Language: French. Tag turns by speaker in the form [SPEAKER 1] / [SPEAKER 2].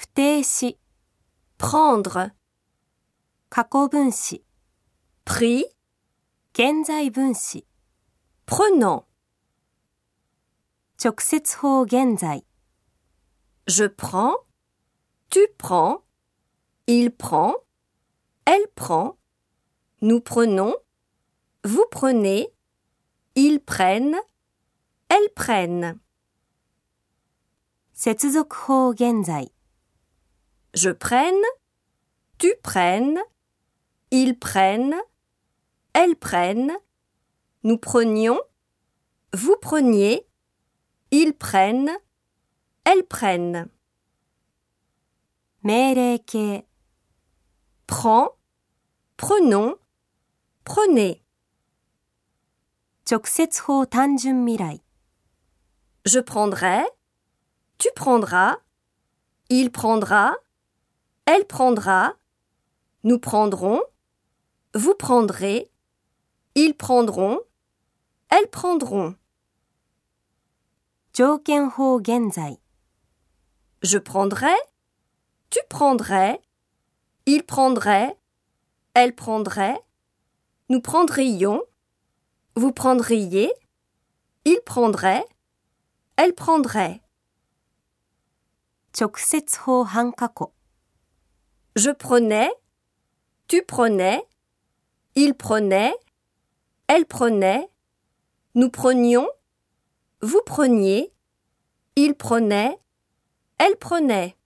[SPEAKER 1] 定詞
[SPEAKER 2] prendre,
[SPEAKER 1] 過去分詞
[SPEAKER 2] pris,
[SPEAKER 1] 現在分詞
[SPEAKER 2] prenant.
[SPEAKER 1] 直接法現在
[SPEAKER 2] Je prends, tu prends, il prend, elle prend, nous prenons, vous prenez, ils prennent, elles prennent.
[SPEAKER 1] 接続法現在
[SPEAKER 2] Je prenne, tu prennes, ils prennent, elles prennent, nous prenions, vous preniez, ils prennent, elles prennent.
[SPEAKER 1] 命令形
[SPEAKER 2] Prends, prenons, prenez.
[SPEAKER 1] 直接法単純未来
[SPEAKER 2] Je prendrai, tu prendras, il prendra, elle prendra, nous prendrons, vous prendrez, ils prendront, elles prendront.
[SPEAKER 1] 条件法現在
[SPEAKER 2] Je prendrai, tu prendrais, il prendrait, elle prendrait, nous prendrions, vous prendriez, il prendrait, elle prendrait.
[SPEAKER 1] 直接法半過去
[SPEAKER 2] Je prenais, tu prenais, il prenait, elle prenait, nous prenions, vous preniez, il prenait, elle prenait.